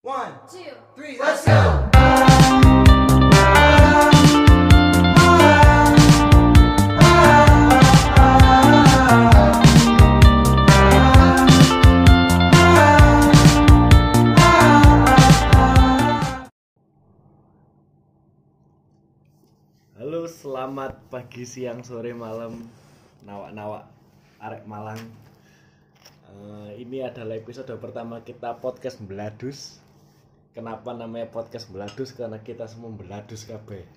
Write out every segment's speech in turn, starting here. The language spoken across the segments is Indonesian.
One, two, three, let's go! Halo, selamat pagi, siang, sore, malam, nawak-nawak arek Malang. Ini adalah episode pertama kita podcast Beladus. Kenapa namanya podcast Beladus? Karena kita semua beladus kabeh.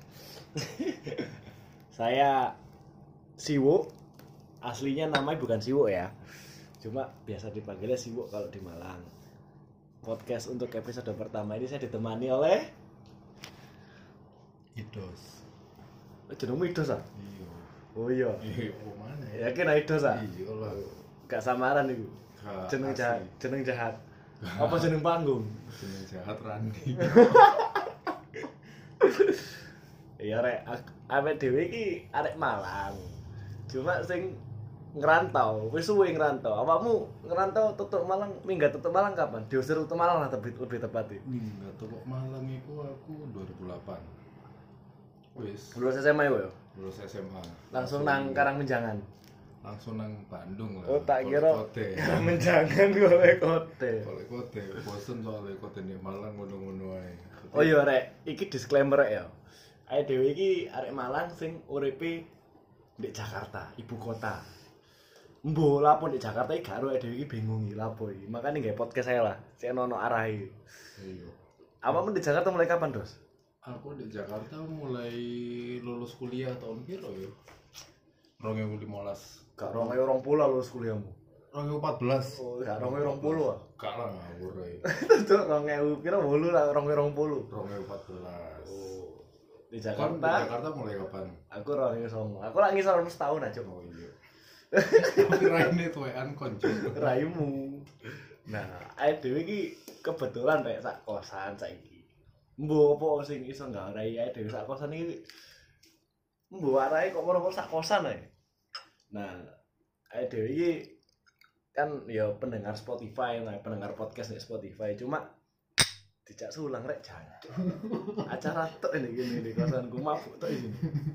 Saya Siwo. Aslinya namanya bukan Siwo ya. Cuma biasa dipanggilnya Siwo kalau di Malang. Podcast untuk episode pertama ini saya ditemani oleh Idos. jenengmu Idos ah? Iya. Oh iya. Iya, mana? Yakin Idos ah? Iya lah. Gak samaran iku. Jeneng jahat, jeneng jahat. Apa jeneng panggung? Jeneng jahat Randi. Iya rek, awake dhewe iki arek Malang. Cuma sing ngerantau, wis suwe ngerantau. Awakmu ngerantau tutuk Malang, minggat tutuk Malang kapan? Diusir tutuk Malang lah lebih tepatnya. Minggat tutuk Malang iku aku 2008. Wis Lulus SMA yo. lulus SMA. Langsung nang Karangmenjangan. Langsung nang Bandung lah. Oh tak kira Kote. Karangmenjangan golek kote. Kolek kote, bosen soalnya kote di Malang ngono-ngono ae. Oh iya rek, iki disclaimer rek ya. Awake dhewe iki arek Malang sing uripe di Jakarta, ibu kota. Mbok lapo di Jakarta iki gak ero awake dhewe iki bingung iki lapo iki. Makane nggawe podcast saya lah, sik ono arahe. Iya. Awakmu di Jakarta mulai kapan, Dos? Aku di Jakarta mulai lulus kuliah tahun piro ya? 2015. Gak 2020 lulus kuliahmu. 2014. Oh, gak 2020 ah. Gak lah ngawur ae. Cuk 2000 pira 8 lah 2020. 2014. Oh. Di Kan di Jakarta. Jakarta mulai kapan? Aku 2009. Aku lagi ngisor setahun aja. Oh iya. Tapi raine tuwean konco. Raimu. Nah, awake dhewe iki kebetulan rek sak kosan saiki. Mbok apa sing iso nggarai awake dhewe sak kosan iki. Mbok arahe kok moro-moro sak kosan ae. Nah, awake dhewe iki kan ya pendengar Spotify, nah, pendengar podcast di Spotify. Cuma dijak sulang rek jancuk. Acara tok ini gini di kosanku mabuk tok iki.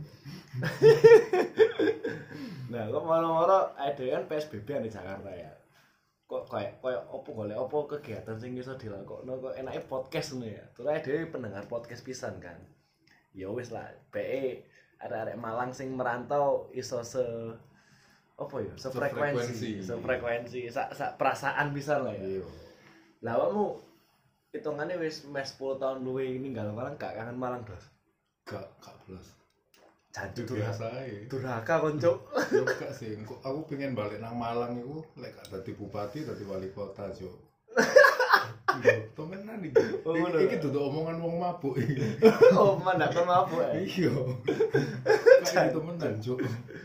Nah, kok moro-moro awake dhewe kan PSBB di Jakarta ya. Kok kayak opo golek opo kegiatan sing iso dilakokno kok enake podcast ngono ya. Terus dhewe pendengar podcast pisan kan. Ya wis lah, PE arek-arek Malang sing merantau iso sefrekuensi, sak perasaan pisan lah ya. Iya. Lah awakmu hitungane wis 10 tahun luwih ninggal Malang gak kangen Malang, Dos? Gak belas. Jancuk Biasa ae. durhaka konco. Yo gak sih, aku pengen balik nang Malang iku lek gak dadi bupati, dadi wali kota, Cuk. Temenan iki. Iki dudu omongan wong mabuk iki. Oh, mandak kon mabuk ae. Iya. Kayak temenan, Cuk.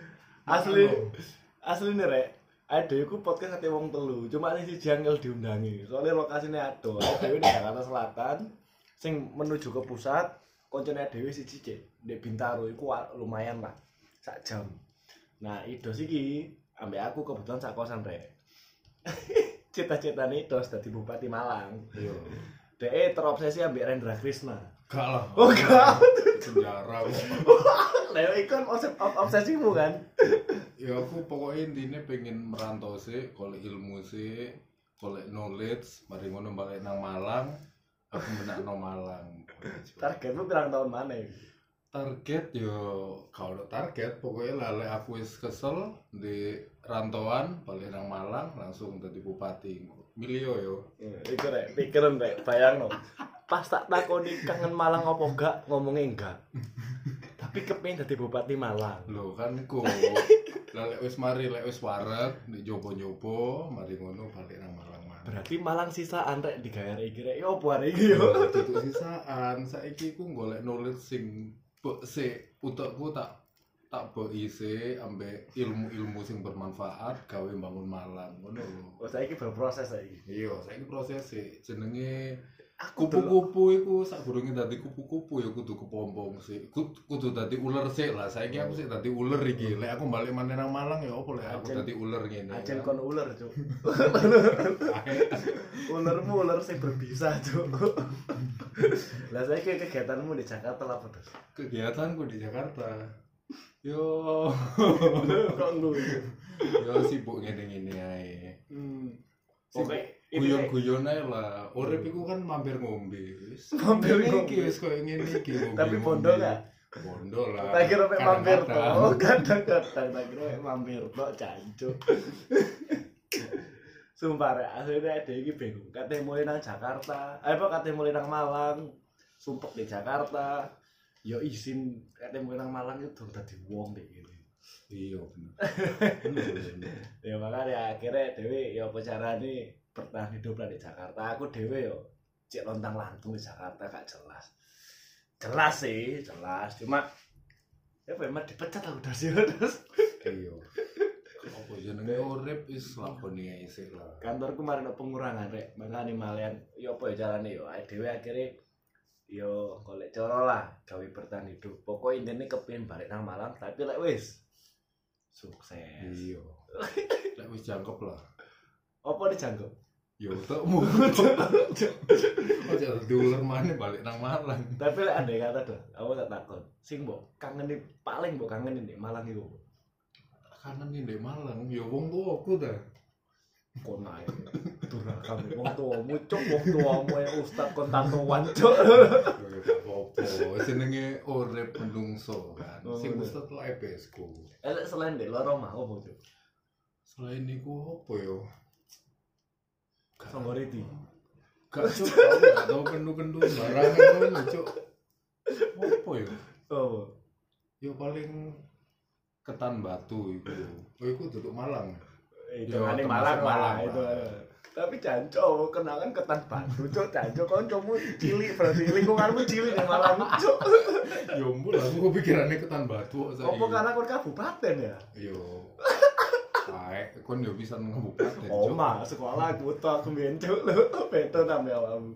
Asli nih rek, ada aku podcast ate wong telu, cuma ini si janggal diundangi. Soalnya lokasinya ado, ada di Jakarta Selatan, sing menuju ke pusat, koncone dhewe siji cek, di Bintaro iku lumayan lah, sak jam. Nah, Idos iki ambek aku kebetulan sak kosan rek. Cita-citane Idos dadi Bupati Malang. Iya. Dhek terobsesi ambek Rendra Krisna. Gak lah. Oh, gak. Penjara. Lah iku kan obsesimu kan. Ya aku pokoknya intinya pengen merantau sih, golek ilmu sih, golek knowledge, mari ngono balik nang Malang, aku menakno Malang. Targetmu pirang tahun mana iki? Target yo kalau target pokoknya lale aku wis kesel di rantauan balik nang Malang langsung dadi bupati. Milio yo. Iku rek, pikiran rek, bayangno. Pas tak takoni kangen Malang apa enggak, ngomongnya enggak. Tapi kepengin dadi bupati Malang. Lho kan ku lek wis mari lek wis wareg di jopo-jopo mari ngono balik nang Malang maneh. Berarti Malang sisaan rek digawe iki rek. Yo opo arek iki yo. Duduk sisaan, saiki ku golek knowledge sing sik utekku tak beisi ambek ilmu-ilmu sing bermanfaat gawe bangun Malang ngono lho. Oh saiki berproses saiki. Iya, saiki proses sih jenenge kupu-kupu iku sadurunge dadi kupu-kupu ya kudu kepompong sih. Kudu dadi uler sih lah. Saiki aku sih dadi uler iki. Lek aku balik maneh nang Malang ya opo lek aku dadi uler ngene. Ajen kon uler, Cuk. Ulermu uler sing berbisa, Cuk. Lah saiki kegiatanmu di Jakarta apa, Terus? Kegiatanku di Jakarta. Yo. Kok lu? Yo sibuk ngene-ngene ae. Oke, guyon-guyon ae lah. Urip iku kan mampir ngombe. Mampir ngombe. Iki wis koyo ngene iki. Tapi bondo enggak? Bondo lah. Tak kira mek mampir to. Kadang-kadang. Oh, kadang-kadang tak kira mek mampir to, jancuk. Sumpah rek, akhirnya ada iki bingung. Katanya mulai nang Jakarta, katanya mulai nang Malang, sumpek di Jakarta. Yo izin katanya mulai nang Malang itu dadi wong deh gitu. Iya bener. Ya makanya akhirnya Dewi ya apa carane bertahan hidup lah di Jakarta. Aku Dewi yo cek lontang lantung di Jakarta gak jelas. Jelas sih, jelas. Cuma ya memang dipecat aku dari sini terus. Iya. Apa jenenge urip wis lakoni ae sik lah. Kantorku kemarin ada pengurangan rek. Makane malian yo apa ya carane yo Dewi akhirnya yo golek cara lah gawe bertahan hidup. Pokok intine kepengin balik nang Malang tapi lek wis sukses. Iya. Lek wis jangkep lah. Apa dijangkep? Yo tekmu. Ojo diuler maneh balik nang Malang. Tapi lek andai kata tuh, aku tak takon. Sing mbok kangenin paling mbok kangenin di Malang iku. Kangen nih ndek Malang, yo wong tuaku ta. Kon ae. Durhaka wong tuamu cuk, wong tuamu ya ustaz kon tatoan cuk. Yo apa-apa, jenenge urip menungso kan. Sing ustaz lah EPS ku. Elek selain ndek loro mah opo cuk? Selain niku apa yo? Songgoriti. Gak cuk, aku gak tau kendu-kendu barangan ngono cuk. Apa yo? Oh. Yo paling ketan batu iku. Oh iku duduk Malang. Itu Yo, ane termasuk Malang lah Malang itu. lah. Tapi janco kenangan ketan batu cuk, janco kancamu cilik berarti lingkunganmu cilik di Malang cuk. Yo mbul aku kepikirannya ketan batu saiki. Apa karena kon kabupaten ya? Yo. Ae, kon yo bisa nang kabupaten. Oh, mah sekolah aku tuh aku mbiyen cuk. Beto nambah awakmu.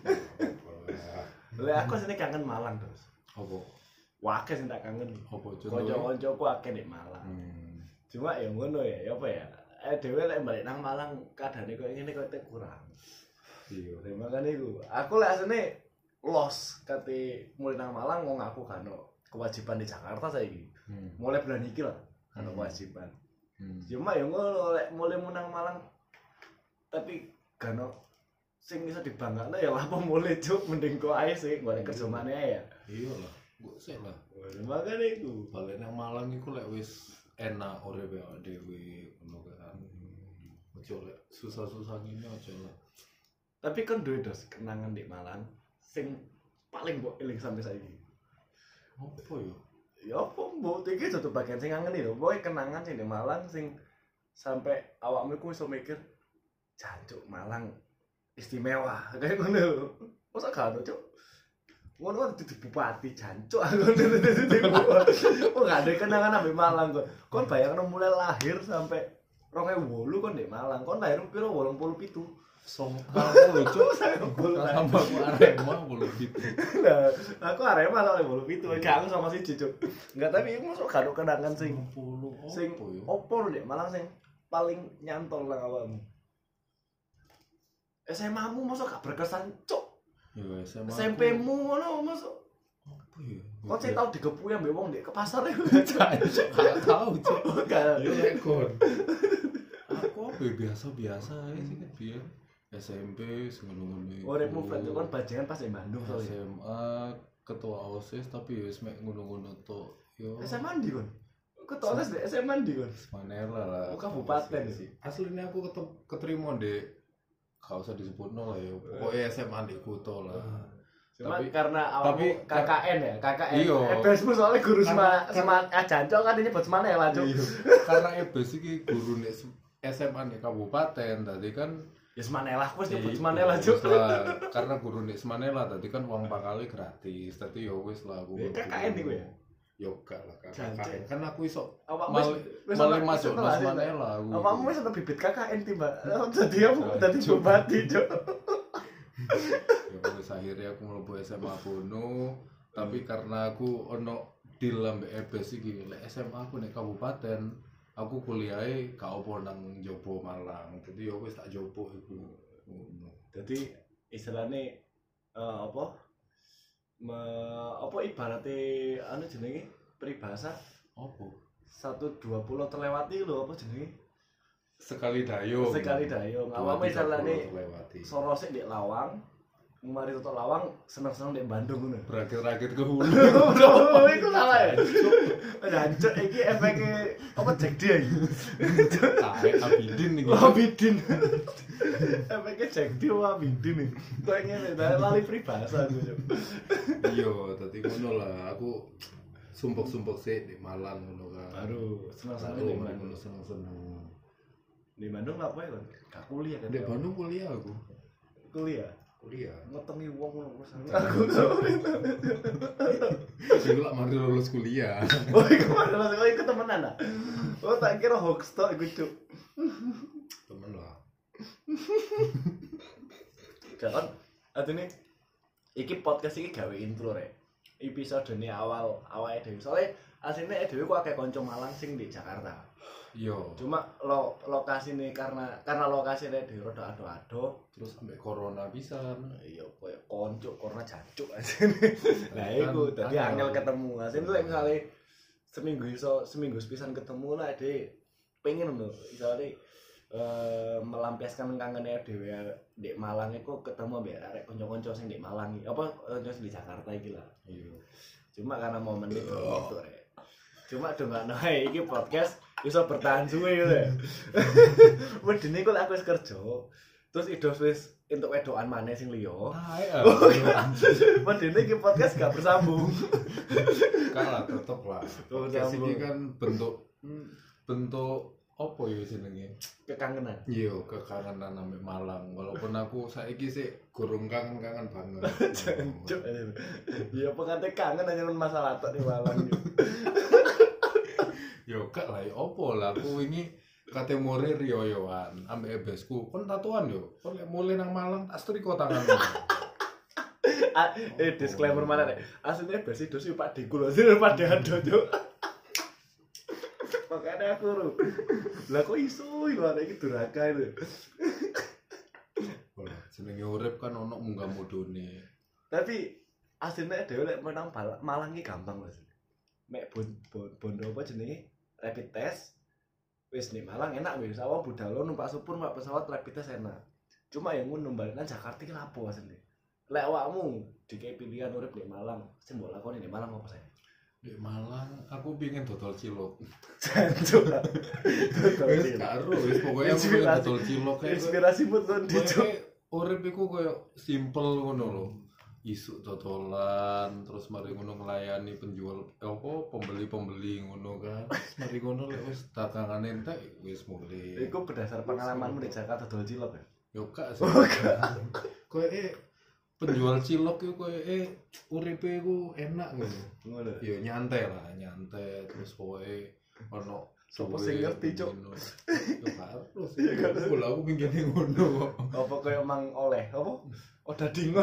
Lek aku sini kangen Malang terus. Apa? Wakil sing tak kangen. Apa Kanca-kancaku akeh di Malang. Cuma ya ngono ya, apa ya? Dhewe lek balik nang Malang kadane koyo ngene koyo kurang. Iya. Makane iku. Aku lek asline los kate mulai nang Malang wong aku kan kewajiban di Jakarta saiki. Mulai bulan iki lah kan kewajiban. Cuma ya ngono lek mulai nang Malang tapi kan sing iso dibanggakno ya apa mulai cuk mending kok ae sih golek kerja maneh ae ya. Iya lah, gua sik lah. Makane iku. Balik nang Malang iku lek wis enak urip ya dhewe ngono kan. Ojo lek susah-susah ngene ojo lah. Tapi kan duwe dos kenangan di Malang sing paling mbok eling sampai saiki. Apa yo? Ya apa mbok iki satu bagian sing kangen lho. Pokoke kenangan sing di Malang sing sampai awakmu iku iso mikir jancuk Malang istimewa kayak ngono. Masa gak ono cuk. Ngono kan dadi bupati jancuk aku. Oh gak ada kenangan ambek Malang kok. Kon bayangno mulai lahir sampai 2008 kon di Malang. Kon lahir piro 87. Aku lucu sama aku Arema bolu gitu. Nah, aku Arema soalnya bolu pitu, gak aku sama si Cicuk. Enggak, tapi iku masuk kado kenangan sing opo lho Malang sing paling nyantol nang awakmu. SMA-mu masuk gak berkesan cuk. Ya SMA. SMP-mu ngono masuk. Apa ya? Kok saya tau digepuki ambek wong ndek ke pasar iku. Gak tahu cuk. Gak. Yo lek kon. Aku apa biasa-biasa aja sih kan biar SMP ngono-ngono. Uripmu flat kan bajingan pas di Bandung soalnya. SMA ketua OSIS tapi wis mek ngono-ngono tok. Yo. SMA ndi kon? Ketua OSIS di SMA ndi kon? Manela lah. Kabupaten sih. Aslinya aku keterima di gak usah disebutno lah ya. Pokoknya SMA di Kuto lah. Cuma karena awakmu KKN ya, KKN. Iya. EBSmu soalnya guru sama Jancok kan nyebut semane lah cuk. Karena EBS iki guru nek SMA di kabupaten tadi kan ya Semanela, aku wis nyebut Semanela cuk. Karena guru nek Semanela tadi kan uang pakali gratis. Tadi ya wis lah aku. KKN iku ya. Yo gak lah KKN. Kan aku iso wis masuk nang Semanela aku. Awakmu wis ono bibit KKN tiba. Dadi aku dadi bupati cuk. Ya wis akhirnya aku mlebu SMA Bono, tapi karena aku ono deal ambek EBS iki, lek SMA aku nek kabupaten, aku kuliahe gak opo nang Jobo Malang. Jadi ya wis tak jopo iku. Ngono. Jadi istilahnya apa? Apa ibaratnya anu jenenge peribahasa Opo? 120 terlewati lho apa jenenge? Sekali dayung. Sekali dayung. Awake misalane lewati. sorose ndek Lawang, mari tutuk Lawang seneng-seneng ndek Bandung ngono. Berakit-rakit ke hulu. Bro, iku salah ya. Jancuk iki efeke apa Jack D iki. Taek Abidin iki. Abidin. Efeke Jack D Abidin iki. Kok ngene lali peribahasa aku. Iya, dadi ngono lah. Aku sumpek-sumpek sih di Malang ngono kan. Baru seneng-seneng Baru ndek Bandung. ngono seneng-seneng. Di Bandung ngapain kan? Gak kuliah kan? Di Bandung kuliah aku. Kuliah. Kuliah. Ngetengi wong ngono terus. Sing lak mari lulus kuliah. Oh, iku mana lho iku temenan ah. Oh, tak kira hoax tok iku cuk. Temen lah. Kan atine iki podcast iki gawe intro rek. Episode ini awal awake dhewe. Soale asline dhewe ku akeh kanca Malang sing di Jakarta. Iya. Cuma lokasine karena lokasine dhewe rada ado-ado. Terus sampai corona pisan. Iya koyo konco karena jancuk asine. Lah iku dadi angel ketemu. Asine lek misale seminggu sepisan ketemu lah dhewe pengen lho misale melampiaskan kangennya dhewe di Malang iku ketemu mbek arek kanca-kanca sing di Malang iki. Apa kanca sing di Jakarta iki lah. Iya. Cuma karena momen itu gitu rek. Cuma dongakno ae iki podcast iso bertahan suwe gitu ya. Wedine kok aku wis kerja. Terus idos wis entuk wedokan maneh sing liya. Taek. Wedine iki podcast gak bersambung. Kalah tetep lah. Podcast ini kan bentuk apa ya jenenge? Kekangenan. Iya, kekangenan ambek Malang. Walaupun aku saiki sih gurung kangen-kangen banget. Jancuk. Ya apa kate kangen aja masalah tok di Malang. Yo gak lah, opo lah aku wingi kate more riyoyoan ambek ebesku. Kon tatuan yo. Kon lek mulai nang Malang tak setrika tanganmu. Disclaimer mana nek. Asline besi dosi Pak Diku lho, sing Pak Dado, Cuk. Makanya aku ru. Lah kok iso lho arek iki duraka lho. Ora, jenenge urip kan ono munggah mudune. Tapi asline dhewe lek menang Malang iki gampang Mas. Mek bondo apa jenenge? Rapid test. Wis ning Malang enak wis. Awak budal numpak supur numpak pesawat rapid test enak. Cuma yang ngono balikan Jakarta iki lapo asline. Lek awakmu dikei pilihan urip di Malang, sing mbok lakoni di Malang apa sih? Di Malang aku pengen dodol cilok. Jancuk. Wis karo wis pokoke aku pengen dodol cilok kae. Inspirasimu tuh dicuk. Urip iku koyo simple ngono lho. Isuk dodolan terus mari ngono nglayani penjual apa pembeli-pembeli ngono kan. Terus mari ngono lek wis dagangan entek wis mulai. Iku berdasar pengalamanmu di Jakarta dodol cilok ya? Yo gak sih. Koyo penjual cilok iku koyo uripe iku enak ngono. Ngono. Yo nyantai lah, nyantai terus pokoke ono Sopo sing ngerti, Cuk? Yo karo sih. Aku pingin ngono kok. Apa koyo mang oleh apa? Oh dading.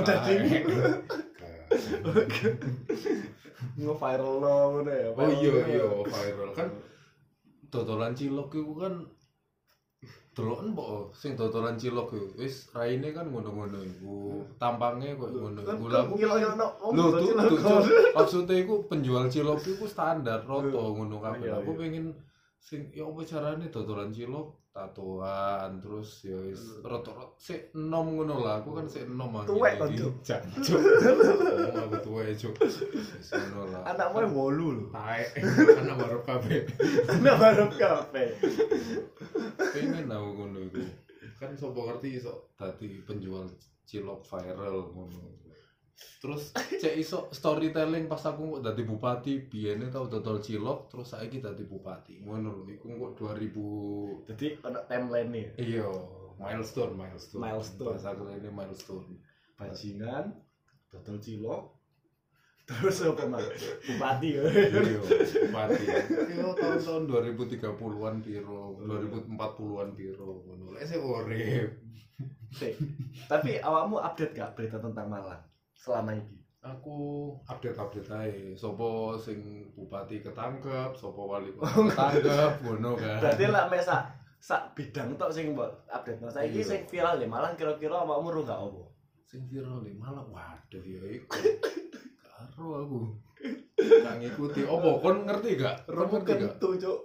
Nge-viral lo ngono ya. Oh iya viral kan dodolan cilok iku kan deloken kok sing dodolan cilok iku wis raine kan ngono-ngono iku. Tampangnya kok ngono iku. Lha aku lho tuh maksudnya iku penjual cilok iku standar roto ngono kabeh. Aku pengen sing ya apa carane dodolan cilok tatoan terus ya wis roto-roto sik enom ngono lah. Aku kan sik enom iki. Tuwek kok, Cuk. Jancuk. Aku tuwek, Cuk. Wis ngono lah. Anakmu 8 lho. Taek. Anak baru kabeh. Anak barep kabeh. Pengen aku ngono iku. Kan sapa ngerti iso dadi penjual cilok viral ngono. Terus cek iso storytelling pas aku kok dadi bupati, biyene tau dodol cilok terus saiki dadi bupati. Ngono lho iku kok 2000. Jadi ana timeline nih. Iya, milestone. Milestone. Pas aku ini milestone. Bajingan, dodol cilok. Terus apa Mas? Bupati ya. Iya, bupati. Yo tahun-tahun 2030-an piro, 2040-an piro ngono. Lek sik urip. Sik. Tapi awakmu update gak berita tentang Malang selama ini? Aku update ae. Sopo sing bupati ketangkep, sopo wali kota ketangkep, ngono kan. Berarti lah mek sak bidang tok sing mbok update. Saiki sing viral di Malang kira-kira awakmu ro gak opo? Sing viral di Malang, waduh ya iku. Karo aku. Gak ngikuti. Opo kon ngerti gak? Kon ngerti gak? Kentu, Cuk.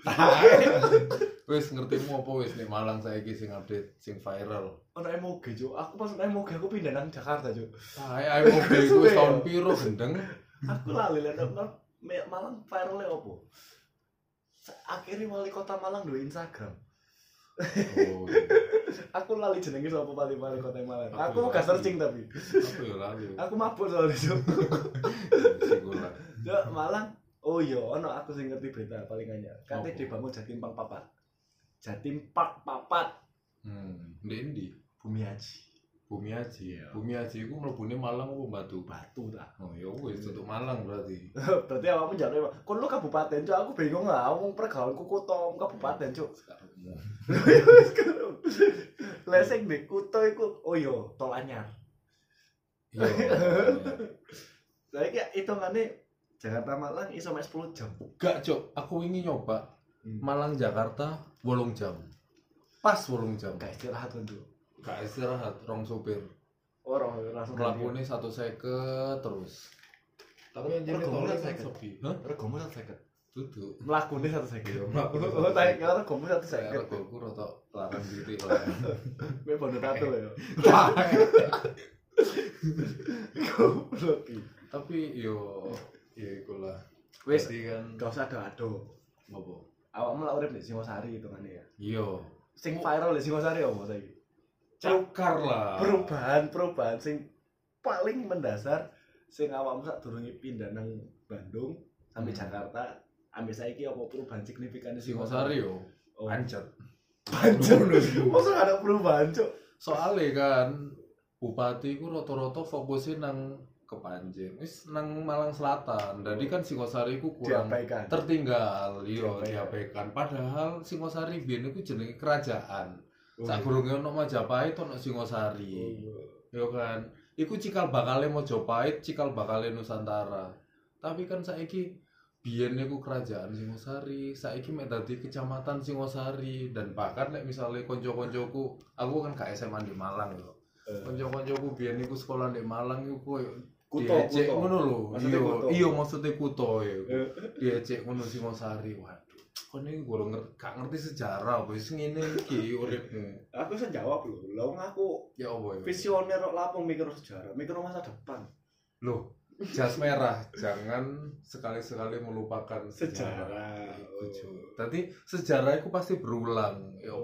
Wis ngertimu apa wis nek Malang saiki sing update sing viral. Ono emoge, Cuk. Aku pas emoge aku pindah nang Jakarta, Cuk. Ae mobil iku wis tahun piro gendeng. Aku lali lek Malang viralnya opo? Akhirnya wali kota Malang duwe Instagram. Oh. Iya. Aku lali jenenge sapa wali kota Malang. Aku Aku gak lali. searching tapi. Aku ya lali. Aku mabuk soalnya, Cuk. Sigulah. Cuk, Malang. Oh iya, ono aku sing ngerti berita paling anyar. Kate dibangun Jatim Park Papat. Jatim Park Papat. Ndi? Bumi Haji. Bumi Haji. Iya. Bumi Haji iku mlebune Malang apa Batu? Batu ta. Oh ya wis untuk Malang berarti. Berarti awakmu jare kon lu kabupaten, Cuk. Aku bingung lah, wong pergaulku kutha kabupaten, Cuk. Sekarang. Wis karo. Lah sing di kutha iku oh iya, tol anyar. Iya. Saiki hitungane Jakarta Malang iso mek 10 jam. Gak, Cuk. Aku ingin nyoba Malang Jakarta 8 jam. Pas 8 jam. Gak istirahat kan, Cuk. Gak istirahat, rong sopir. Orang langsung Mlakune 150 terus. Tapi yang jadi Regomu tolnya kan 150. sepi. Hah? Regomu 150. Duduk. Mlakune 150. Iya, mlakune Oh, tak kira regomu Saya 150. regoku rada larang diri lah. Kowe bondo tato ya. Goblok iki. Tapi yo ya ikulah. Wis Jadi kan gak usah ado-ado. apa? Awakmu lak urip di Singosari hitungane ya. Iya. Sing viral di Singosari opo saiki? Cakar lah. Perubahan sing paling mendasar sing awakmu sadurunge pindah nang Bandung sampai Jakarta ambil saiki apa perubahan signifikan di Singosari yo. Oh. Pancet. Pancet. Masa gak ada perubahan, Cuk? Soalnya kan bupati ku rata-rata fokusnya nang Kepanjen. Wis nang Malang Selatan. Jadi kan Singosari ku kurang Diabaikan. tertinggal. Iya, Diabaikan. diabaikan. Padahal Singosari biyen iku jenenge kerajaan. Oh, Sakurunge ono Majapahit ono Singosari. Ya kan. Iku cikal bakale Majapahit, cikal bakale Nusantara. Tapi kan saiki biyen niku kerajaan Singosari, saiki mek dadi kecamatan Singosari dan bahkan nek misale kanca-kancaku, aku kan gak SMA di Malang yo. Kanca-kancaku biyen niku sekolah di Malang iku koyo diecek ngono lho. Iya maksudnya kuto ya. Diecek ngono Singosari. Waduh, kon iki gak ngerti sejarah wis ngene iki uripmu. Aku bisa jawab lho. Lah wong aku Ya apa ya? visioner kok lapung mikir sejarah, mikir masa depan. Loh, jas merah, jangan sekali-sekali melupakan sejarah. Tadi sejarah itu pasti berulang. Ya,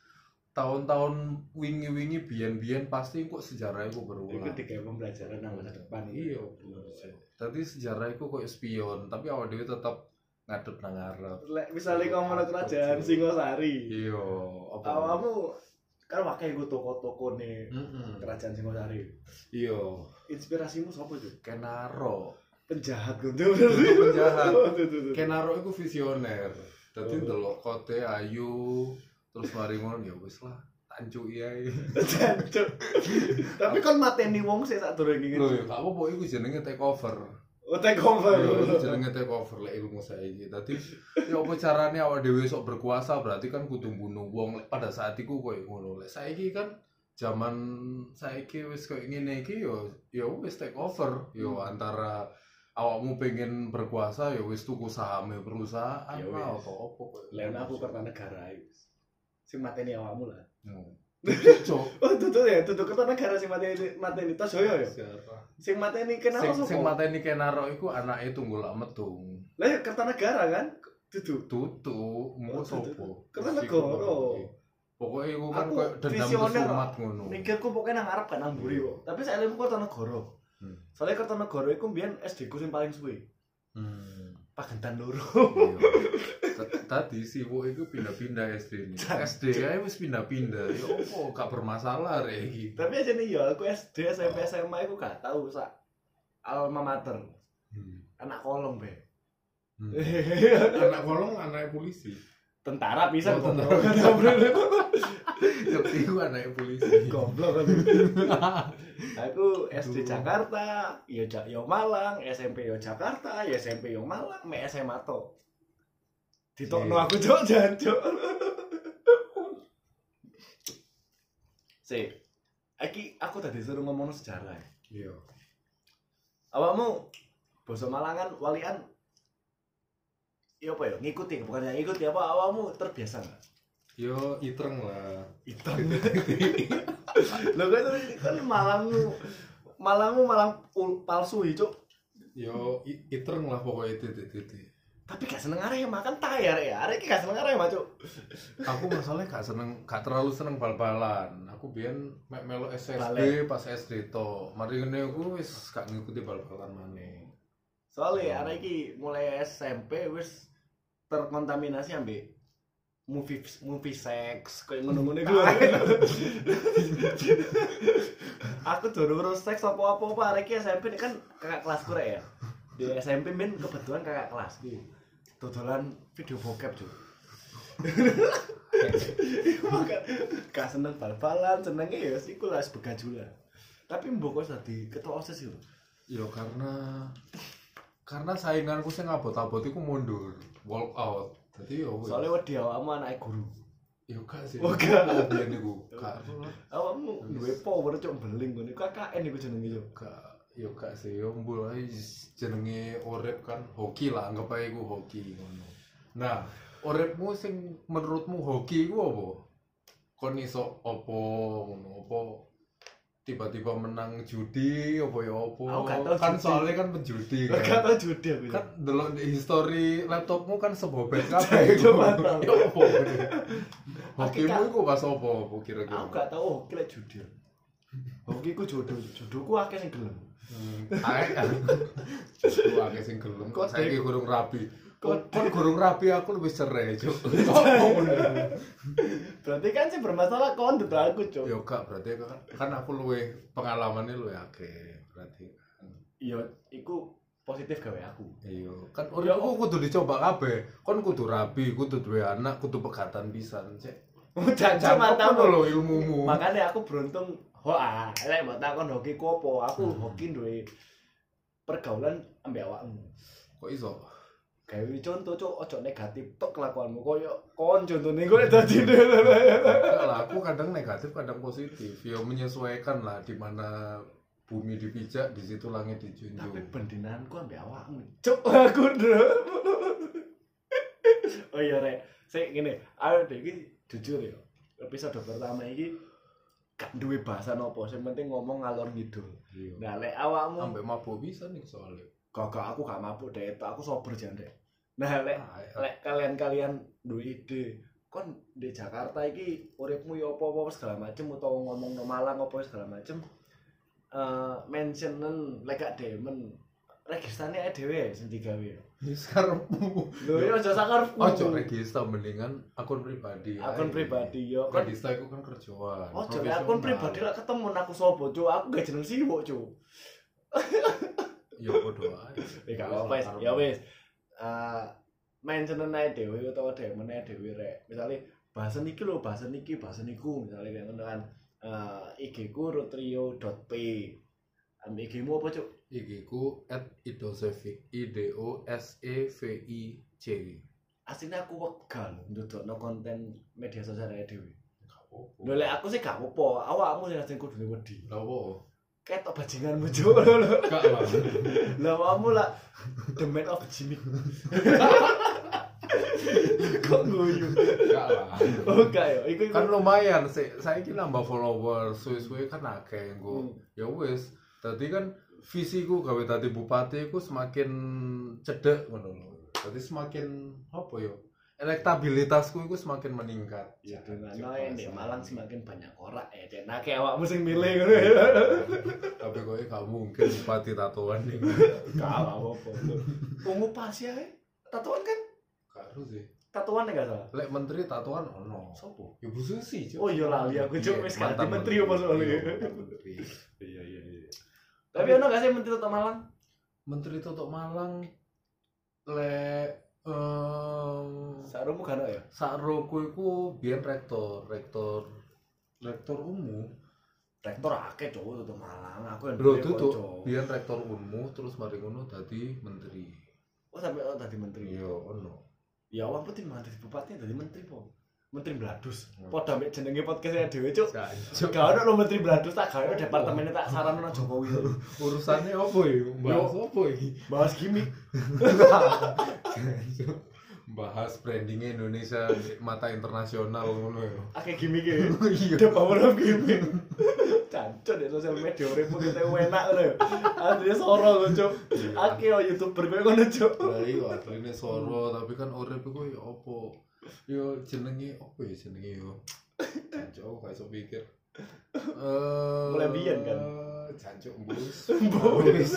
tahun-tahun wingi-wingi biyen-biyen pasti kok sejarah itu berulang. Itu kayak pembelajaran nang masa depan. Iya, tadi sejarah itu kok spion, tapi awak dhewe tetap ngadep nang ngarep. Lek misale ngomong kerajaan Singosari. Iya, apa? Awakmu kan wakai iku toko-toko nih kerajaan Singosari. Iya, Inspirasimu sapa, Cuk? Kenaro. Penjahat guntur. Penjahat. Kenapa? Kenaro itu visioner. Dadi ndelok kote ayu, terus mari ngono ya wis lah, tancuki ae. Jancuk. Tapi kan mateni wong sik sak durung iki. Lho ya gak apa-apa iku jenenge takeover. Oh, take over. Iya, itu jenenge takeover lek ilmu saiki. Dadi ya apa carane awak dhewe sok berkuasa berarti kan kudu mbunuh wong lek pada saat iku koyo ngono. Lek saiki kan zaman saiki wis koyo ngene iki ya wis takeover. Yo antara awakmu pengen berkuasa ya wis tuku sahame perusahaan Ya lah wis. atau apa koyo. Lain aku Kertanegara iki. Sing mateni awakmu lah. Cok. Oh, tutu ya, tutu Kertanegara sing mateni Tosoyo ya. Sing mateni kenapa Sing sapa? mateni Kenaro iku anake Tunggul Ametung. Lah ya Kertanegara kan? Tutu. Tutu, Oh, mau Tutu. sopo? Kertanegara. Pokoknya iku kan Aku koyo dendam visioner, kesumat ngono. Mikirku pokoknya nang Arab kan nang mburi kok. Tapi saya ilmu Kertanegara. Soalnya Kertanegara iku mbiyen SD ku sing paling suwe. Pagentan loro. Tadi si Wo itu pindah-pindah SD ini. SD aja wis pindah-pindah. Ya opo gak bermasalah rek iki. Tapi aja nih ya, aku SD, SMP, SMA aku gak tahu sak alma mater. Anak kolong be. Anak kolong anak polisi. Tentara bisa Oh, kok. tentara. Ngerti ku anake polisi. Goblok kan. Aku SD Jakarta, yo Malang, SMP yo Jakarta, ya SMP yo Malang, mek SMA to. Ditokno aku cuk jancuk. Aku tadi suruh ngomong sejarah. Iya. Awakmu basa Malangan walian iya apa ya? Ngikuti, bukannya ngikuti apa awakmu terbiasa enggak? Yo itreng lah. Hitam. Lho kan Malangmu malang palsu cuk. Yo itreng lah pokoknya titik-titik. Tapi gak seneng arek makan tai arek ya. Arek iki gak seneng arek cuk. Aku masalahnya gak terlalu seneng bal-balan. Aku biyen mek melu SSD Balik. pas SD to. Mari ngene aku wis gak ngikuti bal-balan maneh. Soalnya arek iki mulai SMP wis terkontaminasi ambek movie sex koyo ngono-ngono iku. Aku durung seks apa-apa arek iki SMP kan kakak kelasku rek ya. Di SMP men kebetulan kakak kelas iki. Dodolan video bokep, Cuk. Gak seneng bal-balan, senenge ya iku lah begajula. Tapi mbok kok dadi ketua OSIS yo. Yo karena sainganku sing abot-abot iku mundur, walk out. Dadi yo Soale wedi awakmu anake guru. yo gak sih. Oh, gak. Biyen niku gak Awakmu duwe power cuk beling ngono. KKN iku jenenge yo. gak sih yo mbul ae jenenge urip kan hoki lah anggap ae iku hoki ngono. Nah, uripmu sing menurutmu hoki iku apa? Kon iso apa ngono apa tiba-tiba menang judi apa ya apa? Aku gak tau Kan judi. soalnya kan penjudi Gak kan. tau judi aku. Kan delok di history laptopmu kan sebobet kabeh. Coba tau. Ya apa? Hokimu iku pas apa kira-kira? Aku gak tau hoki lek judi. Hoki ku jodohku akeh sing gelem. Ae kan. Aku akeh sing gelem kok saiki gurung rapi. Kon gurung rapi aku lebih cerai, Cuk. Berarti kan sih bermasalah kon dudu aku, Cuk. Yo gak berarti kan aku luwe pengalamannya luwe akeh berarti kan. Iya, iku positif gawe aku. Iya, kan uripku kudu dicoba kabeh. Kon kudu rapi, kudu duwe anak, kudu pegatan pisan, Cek. Jancuk matamu lho ilmumu. Makanya aku beruntung. Lek mbok takon hoki ku apa? Aku hoki duwe pergaulan ambek awakmu. Kok iso? Gawe contoh cuk, ojo negatif tok kelakuanmu koyo kon contone kowe dadi Lah aku kadang negatif, kadang positif. Ya menyesuaikan lah di mana bumi dipijak, di situ langit dijunjung. Tapi bendinanku ambek awakmu. Cuk, aku Oh iya rek, sik ngene, ayo deh iki jujur ya. Episode pertama iki gak duwe bahasan apa, sing penting ngomong ngalor ngidul. Iya. Nah, lek awakmu Sampai mabuk bisa nih soalnya. Gak, aku gak mabuk deh, aku sober jan deh. Nah, lek kalian duwe ide, kon di Jakarta iki uripmu ya apa-apa segala macem utawa ngomong no Malang apa segala macem. Mentionen lek gak demen registane ae dhewe sing digawe. Wis karepmu. Lho ya aja sakarepku. Ojo register mendingan akun pribadi. Akun pribadi yo kon. Register iku kan kerjaan. Ojo akun pribadi lek ketemu aku sapa, Cuk. Aku gak jeneng siwuk, Cuk. Ya podo ae. Gak apa-apa wis. Ya wis. Mentionen ae dhewe utawa demen ae dhewe rek. Misale bahasan iki lho, bahasan iki, bahasan iku, misale kayak ngono kan. IG ku rotrio.p. IG-mu apa, Cuk? IG ku @idosevic IDOSEVIC. Asline aku wegal ndodokno konten media sosial dhewe. Gak apa-apa. Lho lek aku sih gak apa-apa, awakmu sing kudune wedi. Lah apa? Ketok bajinganmu, Cuk. Gak lah. Lah awakmu lah the man of Jimmy. Kok guyu? Gak lah. Oh gak ya, iku Kan lumayan saiki nambah follower suwe-suwe kan akeh engko. Ya wis, dadi kan visiku gawe dadi bupati iku semakin cedek ngono lho. Dadi semakin apa ya? Elektabilitasku iku semakin meningkat. ya dongano di Malang semakin banyak korak ya. Den akeh awakmu sing milih ngono. Tapi kowe gak mungkin bupati tatoan nih. Gak apa-apa. Ungu pas ya. Tatoan kan? Gak harus sih. Tatoan enggak salah. Lek menteri tatoan ono. Sopo? Ya Bu Susi, Cuk. Oh iya lali aku Cuk wis ganti Mantan menteri apa soalnya. Iya, mantan menteri. Iya. Tapi ono gak sih menteri Toto Malang? Menteri Toto Malang lek Sarumu kan ya? sakroku iku biyen rektor rektor umum. Rektor akeh cowok tuh Malang. Aku yang Bro duwe itu tuh kanca. biyen rektor umum terus mari ngono dadi menteri. Oh sampai tadi menteri. Iya ono. Ya awak putih mah dadi bupati dadi menteri po. Menteri Bladus. Padha mek jenenge podcast-e dhewe cuk. Gak ono lho menteri Bladus tak gawe departemennya tak sarana nang Jokowi. Urusannya apa ya? Bahas apa iki? Bahas gimmick. Bahas brandingnya Indonesia di mata internasional ngono ya. Akeh gimmick e. Iya. The power of gimmick. Cancuk di sosial media uripmu kita enak lho. Asline soro lho cuk. Akeh YouTuber koyo ngono cuk. Lah iya asline soro tapi kan urip iku ya apa? Yo jenenge apa ya jenenge yo. Jancuk gak iso pikir. Mulai biyen kan. Jancuk mbus. Mbus.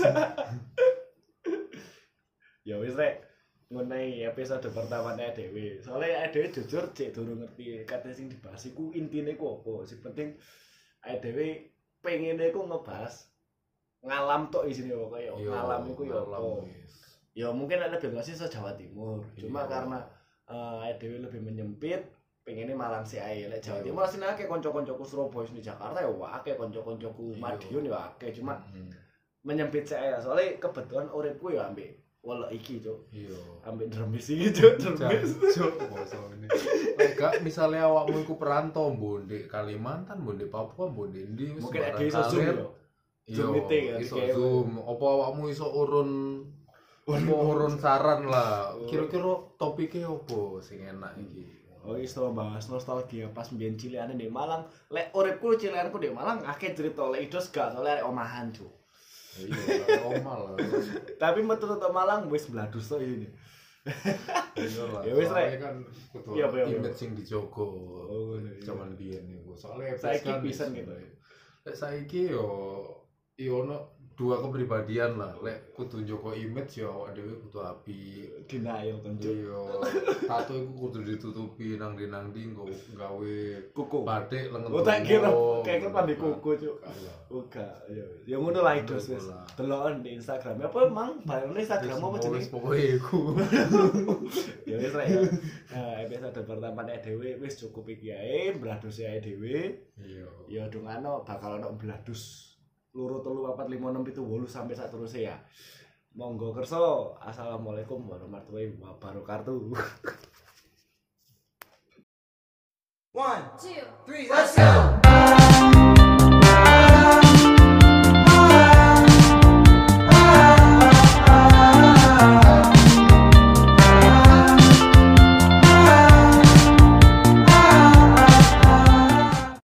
Ya wis rek. Ngenai episode pertama dhewe. Soale dhewe jujur cek durung ngerti kate sing dibahas iku intine ku apa. Sing penting dhewe pengene ku ngebahas ngalam tok isine kok ya ngalam iku ya apa. Ya mungkin ada lebih ngasih se Jawa Timur. Cuma karena dhewe lebih menyempit pengennya Malang sih ae. Lek Jawa Timur asline akeh kanca-kancaku Surabaya di Jakarta ya akeh kanca-kancaku Madiun ya akeh. Cuma menyempit sih ae. Soale kebetulan uripku ya ambek wala iki cuk. Iya. Ambek dremis iki cuk, dremis. Cuk, basa ini. Lek gak misale awakmu iku perantau mbok ndek Kalimantan, mbok ndek Papua, mbok ndek ndi wis Mungkin ada iso zoom yo. Zoom meeting ya. Iso zoom. Apa awakmu iso urun saran lah. Kira-kira topiknya apa sing enak iki? Oh, iso bahas nostalgia pas mbiyen cilikane di Malang. Lek uripku cilikanku di Malang akeh cerita lek idos gak soalnya arek omahan cuk. Iya, omal lah. Tapi metu tok Malang wis bladus tok ini. Iya lah. Ya wis rek. Kan kudu Iya, image sing dijogo. Oh, iya. Zaman biyen niku. Soale Saiki pisan gitu. Lek saiki yo ono dua kepribadian lah. Lek kudu njogo image yo awak dhewe kudu apik. Denial kan cuk. Iya. Tato iku kudu ditutupi nang ndi nggo gawe Kuku. batik lengan. Oh tak kira kayak pandai kuku cuk. Kalah. Oga, ya ngono lah idos wis. Deloken di Instagram. Apa emang bayarne Instagram apa jenenge? Pokoke iku. Ya wis rek. Episode pertama dhewe wis cukup iki ae, bladus ae dhewe. Iya. Ya dongano bakal ono bladus. 2 3 4 5 6 7 8 sampai sak terus ya. Monggo kersa. Assalamualaikum warahmatullahi wabarakatuh. 1, 2, 3, let's go!